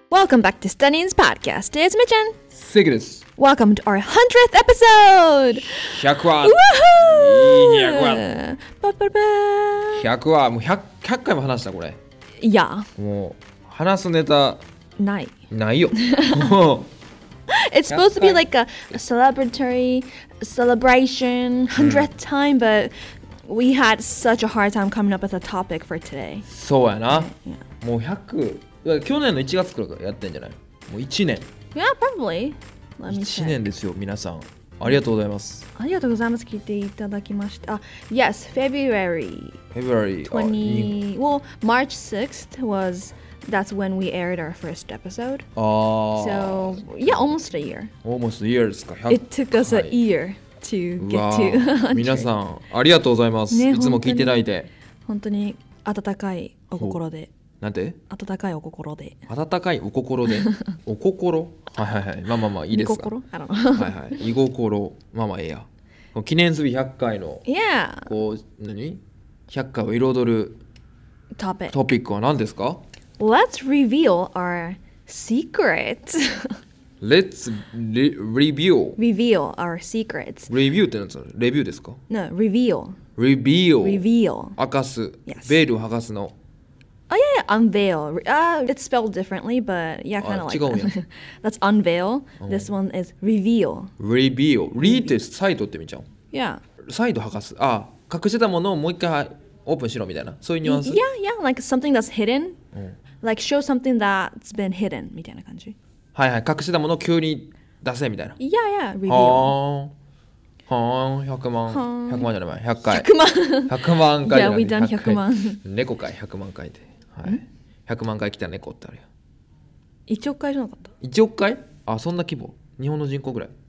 Welcome back to Stunning's podcast. It's Michan. 関です。 Welcome to our 100th episode. 100話。100話。 Ba, ba, ba. 100話。もう 100回も話したこれ。 いや、 もう話すネタない。 ないよ。もう It's supposed to be like a celebratory celebration 100th time, but we had such a hard time coming up with a topic for today. そうやな。もう100。去年の1月からやってんじゃない？もう1年。 Yeah, probably. Let me 1 check. 年ですよ、皆さん。ありがとうございます。 ありがとうございます。聞いていただきました。Yes, February February 20. Well, March 6th was that's when we aired our first episode. ああ。 So, yeah, almost a year. Almost a year ですか。 It took us a year to う get わ to ー皆さんありがとうございます。 ねいつも聞いていただいて。 本当に温かいお心で。 なんて？ 温かいお心で。 温かいお心で。お心？はいはいはい。まあまあまあいいですか。 見心 I don't know. はいはい。居心。まあまあええや。記念すべき100回の Yeah. こう何 ?100 回を彩る Topic. トピックは何ですか？ Let's reveal our secret. Let's review. Reveal our secrets. レビューって何ですか？レビューですか？ No, reveal. Reveal. Reveal. 明かす。 Yes. ベールを剥がすの。 Oh yeah, yeah, unveil. It's spelled differently, but yeah, kind of like 違うんや。 that. That's unveil. This one is reveal. Reveal. リーってサイトって見ちゃう。 Yeah. サイト剥がす。あ、隠してたものをもう一回オープンしろみたいな。そういうニュアンス。 Yeah, yeah, like something that's hidden. Like show something that's been hidden みたいな感じ。 はいはい。隠してたものを急に出せみたいな。 Yeah, yeah, reveal. はーん。100万。100万じゃない。100回。 100万。 100万回じゃ Yeah, な we い。 done 100 100万。 猫回100万回で。はい。100万回来た猫ってあるよ。 1億回じゃなかった。 1億回？あ、そんな規模。日本の人口ぐらい。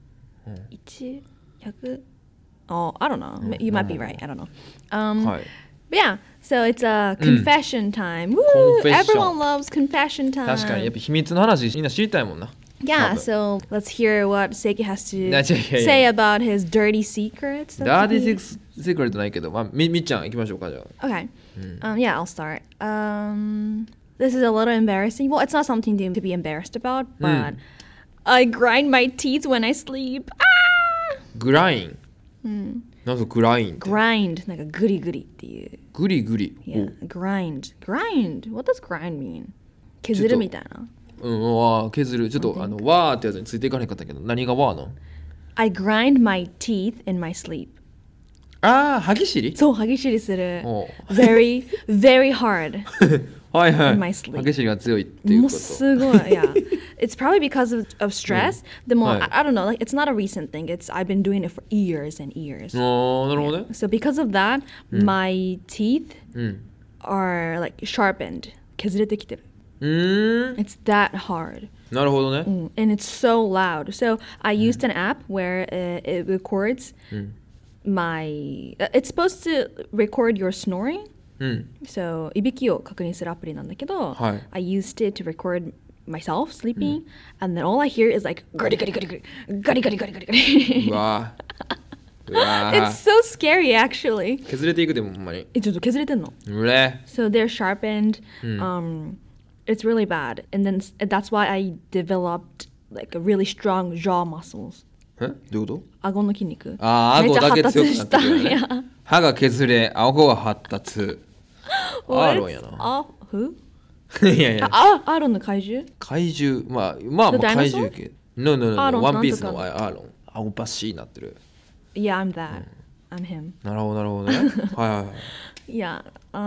1、100? Oh, I don't know. You might be right. I don't know. はい。 But yeah, so it's a confession time. Woo! Confession. Everyone loves confession time. 確かにやっぱ秘密の話みんな知りたいもんな。 Yeah, so let's hear what Seiki has to いやいやいや say about his dirty secrets. that ダーデ he- ィーセクレットないけど、まあ、みっちゃん行きましょうかじゃあ。 Okay. Yeah, I'll start. This is a little embarrassing. Well, it's not something to be embarrassed about, but I grind my teeth when I sleep. Ah! グライン。なんかグラインって。 Grind, なんかグリグリっていう。 グリグリ。 Yeah, grind. Grind. What does grind mean? 削るみたいな。 うん、わー削る。ちょっとわーってやつについていかなかったけど、何がわーの？ I grind my teeth in my sleep. ああ、歯ぎしり？ そう、歯ぎしりする。 おう Very, very hard. はいはい。 In my sleep. 歯ぎしりが強いっていうもうこと。 すごい。Yeah. It's probably because of stress. でも、 はい I don't know. Like, it's not a recent thing. I've been doing it for years and years. ああ、なるほどね。 So because of that, my teeth うん。 are like sharpened. 削れてきてる。 It's It's that hard. なるほどね。 And it's so loud. So I used an app where it records my. It's supposed to record your snoring. うん。 So いびきを確認するアプリなんだけど、 はい I used it to record myself sleeping, and then all I hear is like ガリガリガリガリガリガリガリガリガリ。 うわー。うわ It's ー。 so scary actually. 削れていくでもほんまに。 ちょっと削れてんの。 うれ。 So they're sharpened. It's really bad, and then that's why I developed like a really strong jaw muscles. えどういうこと？ 顎の筋肉。 ああ、顎だけ強くなってくるよねめっちゃ発達した。 歯が削れ、顎が発達。ア What? ーロンやな。 あ、who? いやいや、 あ、アーロンの怪獣？ 怪獣、まあ、まあ、 The 怪 dinosaur? 獣系。No, no, no, アー no. ロンワンピースのなんとかアーロン。顎バッシーになってる。 Yeah, I'm that. I'm him. なるほど、なるほどね。はいはいはい。 Yeah.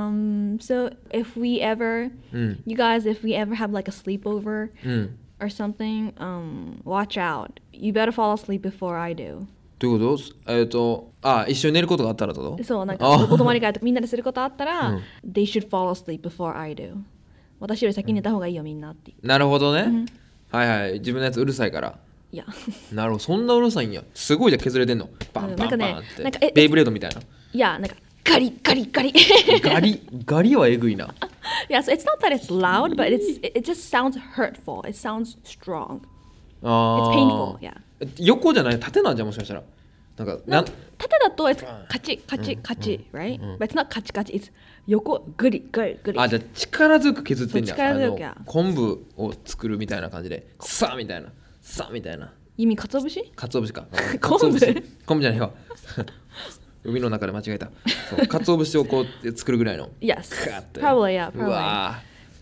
So if we ever, you guys, if we ever have like a sleepover うん。 or something, watch out. You better fall asleep before I do. どういうこと？一緒に寝ることがあったらってこと？ そう、なんかあお泊まり会とかみんなですることあったら、they should fall asleep before I do. 私より先に寝た方がいいよみんなって。 なるほどね。はいはい。自分のやつうるさいから。 いや。 なるほど。そんなうるさいんや。すごいじゃん削れてんの。バンバンバンなんかって。ベイブレードみたいな。 いや、なんかガリガリガリ。 ガリはえぐいな。 Yeah, so it's not that it's loud, but it just sounds hurtful. It sounds strong. あ It's ー painful, yeah. 横じゃない縦なんじゃんもしかしたら。なんか縦だと it's カチカチカチ, right? But it's not カチカチ, it's 横グリグリグリ。 あ、じゃあ力強く削ってんじゃん。 そう力強くや昆布を作るみたいな感じで、さあみたいな、さあみたいな。 意味鰹節？ 鰹節か。 昆布昆布じゃないよ。海の中で間違えた。そう、鰹節をこう作るぐらいの。 Yes. ガッて Probably, yeah, う probably. わ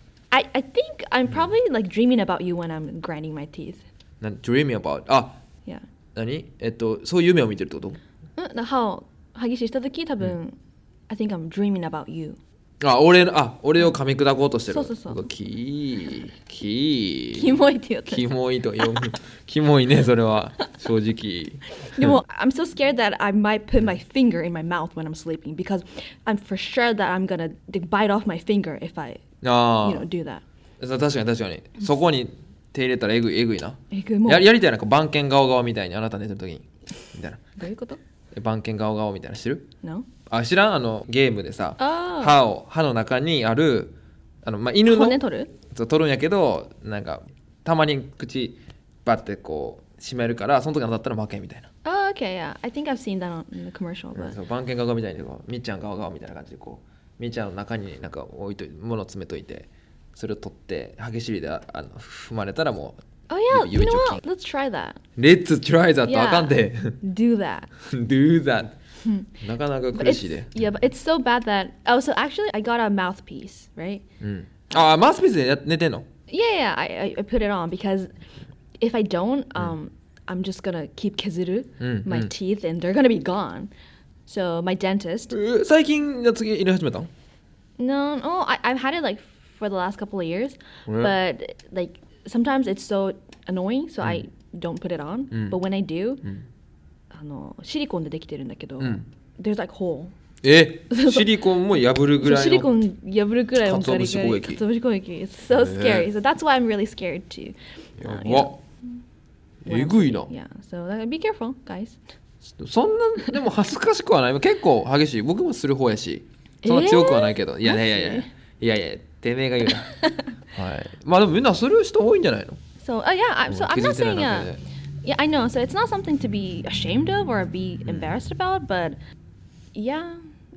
I think I'm probably like dreaming about you when I'm grinding my teeth. ー。dreaming about。あ、 Yeah. 何？そういう夢を見てるってこと？ 歯ぎしした時多分、I think I'm dreaming about you. あ、俺を噛み砕こうとしてる。 そうキモいって言ったキモいと読む。キモいね、それは正直。 でもI'm so scared that I might put my finger in my mouth when I'm sleeping because I'm for sure that I'm gonna bite off my finger if I あ do that. 確かにそこに手入れたらえぐいな。 もうやりたいな、番犬ガオガオみたいにあなた寝てる時にみたいな。 どういうこと？ 番犬ガオガオみたいな知る？ No? あ、知らん？ゲームでさ、 あ歯の中にある犬の骨取る？ そう取るんやけど、なんかたまに口バッてこう閉めるから、その時当たったら負けみたいな。 Oh, okay, yeah. I think I've seen that in the commercial. But... そう、番犬ガオガオみたいにこうみっちゃんガオガオみたいな感じでこうみっちゃんの中になんか物を詰めといて、それを取って歯ぎしりで踏まれたらもう。 Oh yeah, you know joking. what? Let's try that. Let's try that. あかんで。 Do that. Do that. なかなか苦しいで。 Yeah, but it's so bad that... Oh, so actually I got a mouthpiece, right? あ、マウスピースで寝てんの？ Yeah, I put it on because if I don't, I'm just gonna keep kezuru my teeth and they're gonna be gone. So my dentist... 最近やつ入れ始めたの？ No, I've had it like for the last couple of years, but like sometimes it's so annoying, so I don't put it on. But when I do, シリコンでできてるんだけど、there's like hole. シリコンも破るぐらいの。 シリコン破るぐらいの鰹節攻撃。 鰹節攻撃。It's so scary. So that's why I'm really scared to. わ、えぐいな。 Yeah, so be careful, guys. そんなでも恥ずかしくはない。結構激しい。僕もする方やし、そんな強くはないけど。いや、てめえが言うな。はい。まあでもみんなする人多いんじゃないの？ So yeah, so I'm not saying yeah, I know. So it's not something to be ashamed of or be embarrassed about, but yeah,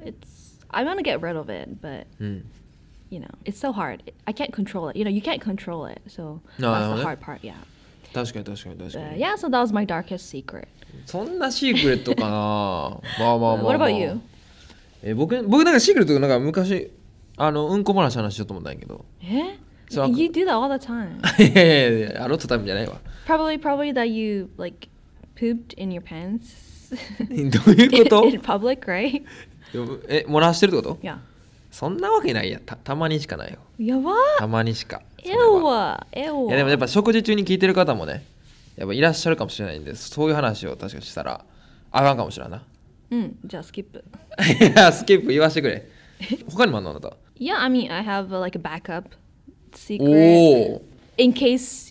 I want to get rid of it, but it's so hard. I can't control it. You can't control it. So that's the hard part, yeah. 確かに。 Yeah, so that was my darkest secret. そんなシークレットかな。まあ。 What about you? 僕なんかシークレットなんか昔うんこ話しようと思ったんやけど。 You do that all the time. いやあのタイムじゃないわ。 Probably that you like pooped in your pants. どういうこと？ in public, right? 漏らしてるってこと？ Yeah. そんなわけないや。たまにしかないよ。 やば。 たまにしか。 いやでもやっぱ食事中に聞いてる方もね、やっぱいらっしゃるかもしれないんで、そういう話を確かしたらあかんかもしれんな。 じゃあスキップ。 いや、スキップ言わせてくれ。他にもあんのあなた？ Yeah, I mean, I have like a backup secret in case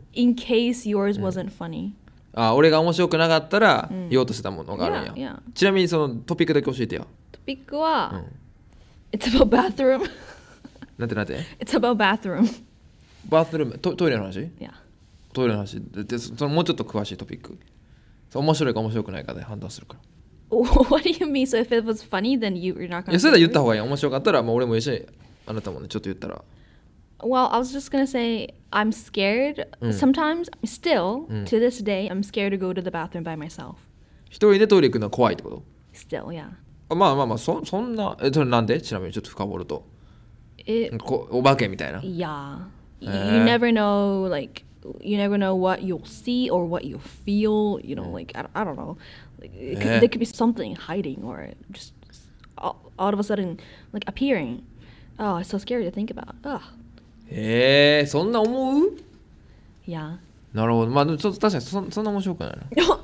yours wasn't funny. あ、俺が面白くなかったら言おうとしてたものがあるんや。ちなみにそのトピックだけ教えてよ。 トピックは、It's about bathroom. なんて It's about bathroom. バスルーム、トイレの話？ Yeah. トイレの話で、そのもうちょっと詳しいトピック。面白いか面白くないかで判断するから。 What do you mean? So if it was funny, then you're not gonna. いや、それで言った方がいい。面白かったら、もう俺も一緒にあなたもね、ちょっと言ったら。 Well, I was just gonna say I'm scared. Sometimes, still to this day, I'm scared to go to the bathroom by myself. 一人でトイレ行くのは怖いってこと？ Still, yeah. まあ、そんな、それなんで？ちなみにちょっと深掘ると。お化けみたいな。 Yeah. You never know, like, you never know what you'll see or what you'll feel. Like, I don't know. Like, there could be something hiding or just all of a sudden, like, appearing. Oh, it's so scary to think about. Ugh. そんな思う？ Yeah. なるほど。まあ、ちょっと確かにそんな面白くないな。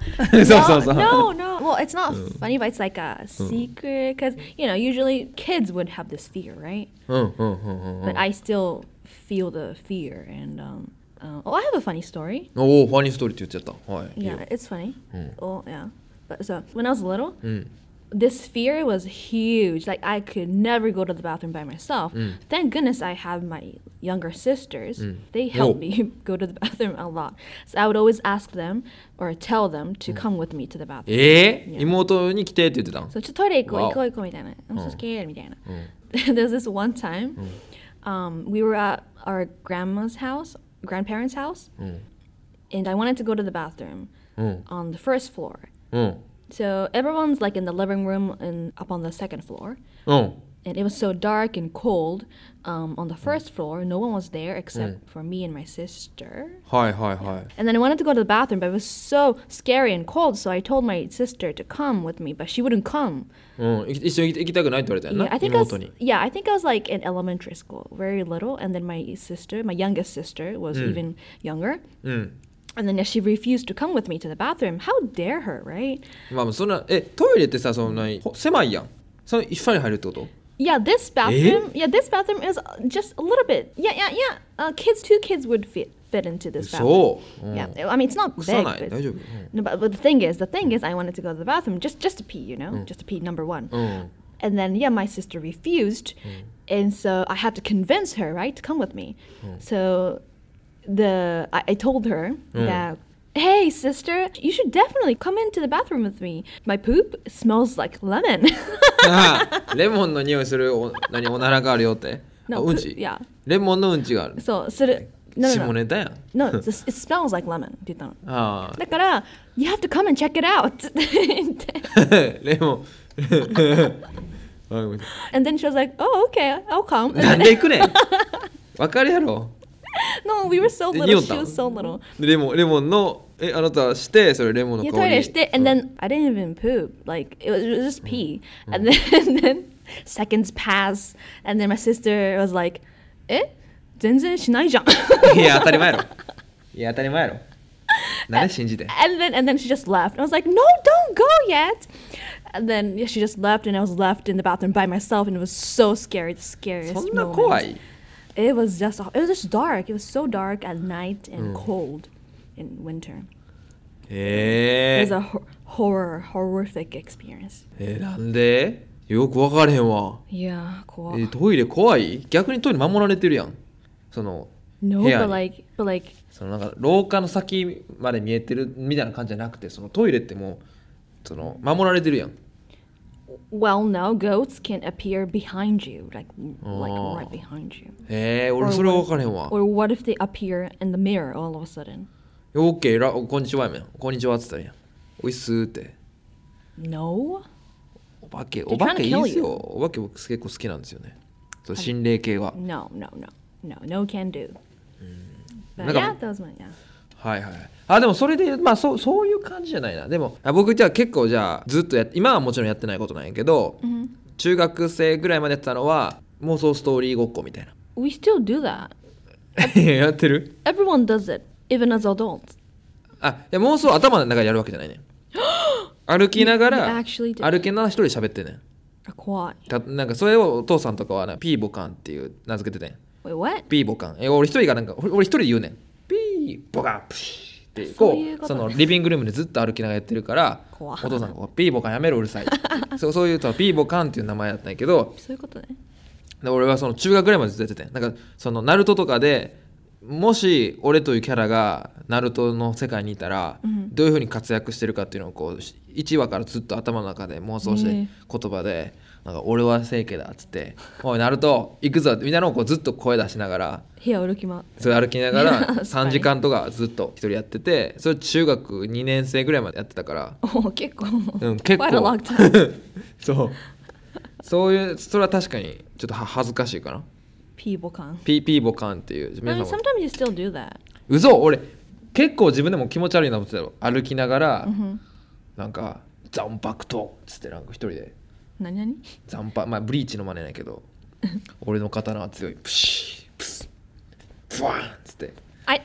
No. Well, it's not funny, but it's like a secret because, usually kids would have this fear, right? But I still feel the fear. And, I have a funny story. ファニーストーリーって言っちゃった。はい。 Yeah, it's funny. Oh, yeah. But so, when I was little, this fear was huge. Like, I could never go to the bathroom by myself. Thank goodness I have my younger sisters. They helped me go to the bathroom a lot. So I would always ask them or tell them to come with me to the bathroom. 妹に来てって言ってたの？ そう、ちょっとトイレ行こうみたいな。I'm so scared みたいな。 there's this one time, we were at our grandparents' house, and I wanted to go to the bathroom on the first floor. So everyone's like in the living room and up on the second floor. And it was so dark and cold on the first floor. No one was there except for me and my sister. はいはいはい。 And then I wanted to go to the bathroom, but it was so scary and cold, so I told my sister to come with me, but she wouldn't come. 一緒に行きたくないって言われたよな、 Yeah, I think I was, 妹に。 yeah, I think I was like in elementary school, very little, and then my youngest sister, was even younger. And then she refused to come with me to the bathroom. How dare her, right? まあそんなトイレってさそんなに狭いやん。その一緒に入るってこと？ Yeah, this bathroom is just a little bit. Two kids would fit into this bathroom. そう。 Yeah, I mean it's not 臭 big. ない。 But 大丈夫。 no, but the thing is, I wanted to go to the bathroom just to pee, just to pee, number one. And then my sister refused, and so I had to convince her, right, to come with me. So I told her that, hey sister, you should definitely come into the bathroom with me. My poop smells like lemon. レモンの匂いするおならがあるよって。 No, うんち。 yeah. レモンのうんちがある。 So, no. 下ネタやん。 No, it smells like lemon って言ったの。 ああ。 だから、you have to come and check it out って言って。 レモン。 And then she was like, oh, okay, I'll come. なんで行くねん。わかるやろ。 No, we were so little. She was so little. レモンのあなたしてそれレモンの香り。 トイレして、and then I didn't even poop. Like it was just pee. And then seconds pass, and then my sister was like, 全然しないじゃん。 いや当たり前やろ。いや当たり前やろ。なんで信じて。 And then she just left. And I was like, no, don't go yet. And then she just left, and I was left in the bathroom by myself, and it was so scary, the scariest そんな moment. 怖い。 It was just dark. It was so dark at night and cold in winter. It was a horrific experience. なんで？よく分からへんわ。 Yeah, cool. トイレ怖い？逆にトイレ守られてるやん。その No, 部屋 but に like そのなんか廊下の先まで見えてるみたいな感じじゃなくて、そのトイレってもうその守られてるやん。 well, no, goats can appear behind you, like right behind you. 俺それは分からへんわ。 Or what if they appear in the mirror all of a sudden? オッケー、こんにちはやめん。こんにちはって言ったらやん。おいっすーって。 No. お化けいい trying to っ kill すよ。お化け僕結構好きなんですよね。そう心霊系は。 No can do. But なんか yeah, that was my yeah. はいはい。あでもそれでまあそういう感じじゃないな。でも僕じゃあ結構じゃあずっと今はもちろんやってないことなんやけど、中学生ぐらいまでやってたのは妄想ストーリーごっこみたいな。 We still do that. やってる？ Everyone does it, even as adults. いや妄想頭の中でやるわけじゃないね。歩きなが You ら actually did 歩きながら一人で喋ってんねん。 怖い。 なんかそれをお父さんとかはなピーボカンっていう名付けててん。 Wait, what? ピーボカン。俺一人がなんか俺一人で言うねん。ピーボカンプシーってそういうことねそのリビングルームでずっと歩きながらやってるから怖いお父さんがピーボカンやめろうるさいそういうとピーボカンっていう名前だったんやけど、 そういうことね。 で俺はその中学ぐらいまでずっとやっててん。なんかそのナルトとかでもし俺というキャラがナルトの世界にいたらどういう風に活躍してるかっていうのをこう1話からずっと頭の中で妄想して言葉でなんか俺は聖家だっつって「おいナルト行くぞ」みたいなのをこうずっと声出しながら部屋を歩き回って。 それ歩きながら3時間とかずっと一人やってて、それ中学2年生ぐらいまでやってたから、 結構。 結 Quite a 構 long time. そういうそれは確かにちょっと恥ずかしいかな。 ピーボカン。 ピーボカンっていう I mean, 皆さんも sometimes you still do that. 嘘俺結構自分でも気持ち悪いなと思ってたよ。歩きながら、なんか残白とっつってなんか一人で何残白まあブリーチの真似ないけど俺の刀は強いプシープスプワーンっつって I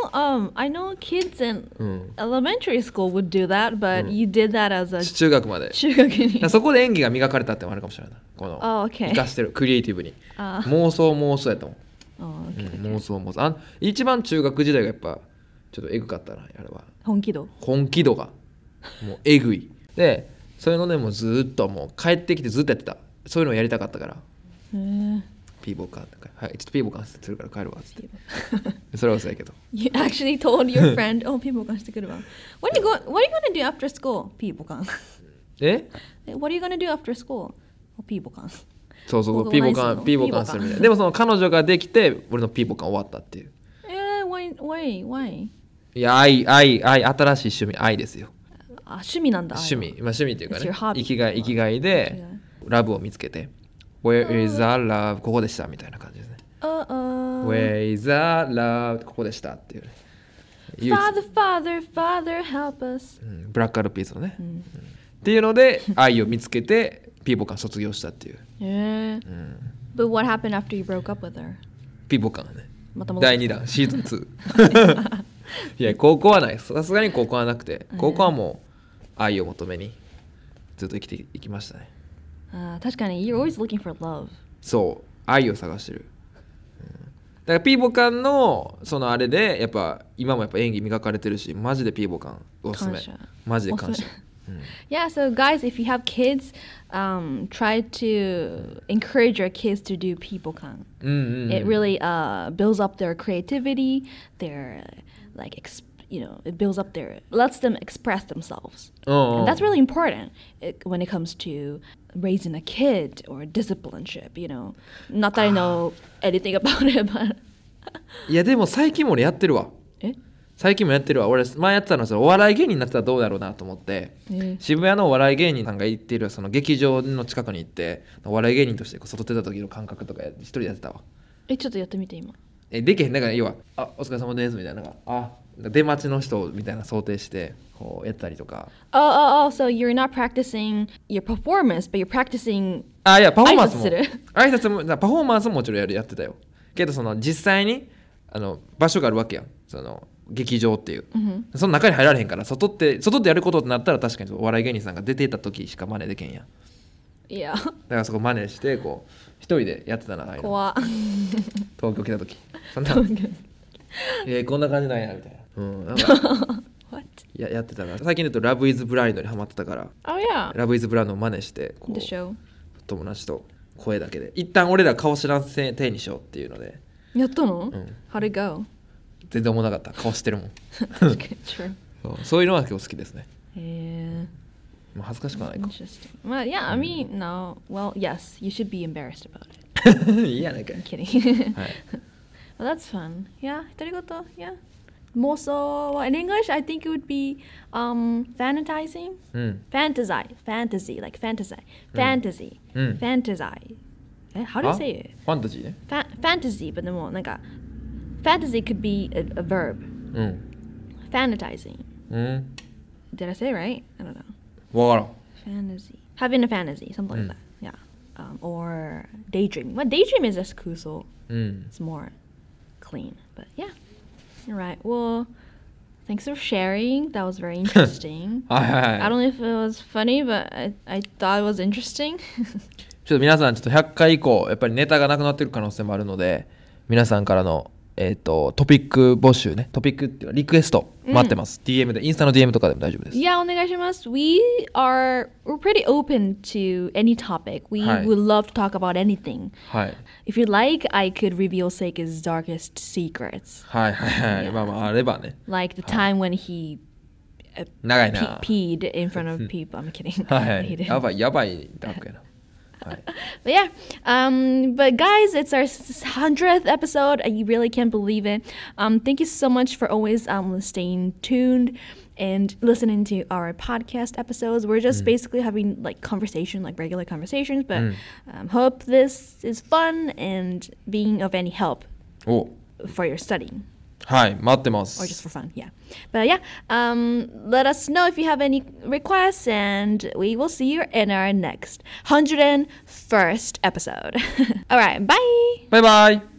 know kids in elementary school would do that, but you did that as a 中学まで中学に。 だからそこで演技が磨かれたってのもあるかもしれない。この okay. 生かしてるクリエイティブに妄想やと思う。 Okay. 妄想一番中学時代がやっぱちょっとエグかったなあれは。 本気度がもうエグいでそういうのでもうずっともう帰ってきてずっとやってた。そういうのをやりたかったからピーボーカーとかはいちょっとピーボーカーするから帰るわっつってそれはそうやけど You actually told your friend, oh, ピーボカンしてくるわ。What are you gonna do after school? ピーボカン。 え What are you gonna do after school? ピーボカン。 そうそう、 ここピーボ何するのカンピーボカンするみたいな。でもその彼女ができて俺のピーボカン終わったっていう。 why? いや愛新しい趣味愛ですよ。 あ、趣味なんだ。 趣味、まあ、趣味っていうか It's ね your hobby. 生きがいでラブを見つけて Where is the love ここでしたみたいな感じですね。Where is the love ここでしたっていうね。 Father, help us. ブラックアルピースのね、っていうので愛を見つけてピーボカン卒業したっていう。 But what happened after you broke up with her? ピーボカンね。 また戻って第2弾シーズン2。いや高校はない。さすがに高校はなくて、高校はもう愛を求めにずっと生きていきましたね。 確かに You're always looking for love. そう愛を探してる。だからピーボカンのそのあれでやっぱ今もやっぱ演技磨かれてるし、マジでピーボカンおすすめ。マジで感謝。 Yeah, so guys, if you have kids, try to encourage your kids to do peoplekan. It really builds up their creativity, their it builds up lets them express themselves. And that's really important when it comes to raising a kid or discipleship, Not that I know anything about it, but いやでも最近も俺やってるわ。最近もやってるわ。俺前やってたのはお笑い芸人になったらどうだろうなと思って、渋谷のお笑い芸人さんが行っているその劇場の近くに行ってお笑い芸人として外出た時の感覚とか一人でやってたわ。 ちょっとやってみて今。 できへん。だから要はお疲れ様ですみたいな出待ちの人みたいな想定してこうやったりとか。 So you're not practicing your performance, but you're practicing いやパフォーマンスも挨拶もパフォーマンスももちろんやってたよ。けどその実際に場所があるわけやん。その劇場っていう、その中に入られへんから外でやることってなったら確かにお笑い芸人さんが出ていた時しか真似できへんやん。 いや。 だからそこ真似してこう一人でやってたな。 怖っ。 東京来た時そんなこんな感じなんやみたいな。 What? やってたから最近だとラブイズブラインドにハマってたから、ラブイズブラインドを真似してこう友達と声だけで一旦俺ら顔知らんせ手にしようっていうのでやったの？ How'd it go? 全然思わなかった。顔してるもん。そういうのは結構好きですね。恥ずかしくはないか。 Well, yeah, I mean, no. Well, yes, you should be embarrassed about it. いいやないかい。 I'm kidding. Well, that's fun. Yeah, 独り言 Yeah. 妄想 in English, I think it would be fantasizing. Fantasy, like fantasy. Fantasy. Fantasy. How do you say it? ファンタジーね。 Fantasy, but でもなんかFantasy could be a verb. Fantasizing. Did I say it right? I don't know. わからん。 Fantasy. Having a fantasy, something like that. Yeah. Or daydreaming. Well, daydream is just cool, so it's more clean. But yeah. All right. Well, thanks for sharing. That was very interesting. I don't know if it was funny, but I thought it was interesting. ちょっと皆さんちょっと100回以降やっぱりネタがなくなってる可能性もあるので、皆さんからのトピック募集ね、トピックっていうかリクエスト待ってます。DM でインスタの DM とかでも大丈夫です。 お願いします。We're pretty open to any topic. We would love to talk about anything. If you like, I could reveal Seika's darkest secrets. まああればね。 Like the time when he 長いな。 peed in front of people. I'm kidding. やばいダークやな。 But yeah, but guys, it's our 100th episode. I really can't believe it. Thank you so much for always staying tuned and listening to our podcast episodes. We're just basically having like conversation, like regular conversations, but hope this is fun and being of any help for your studying. 待ってます。 Or just for fun, yeah. But yeah, let us know if you have any requests, and we will see you in our next 101st episode. All right, bye. Bye bye.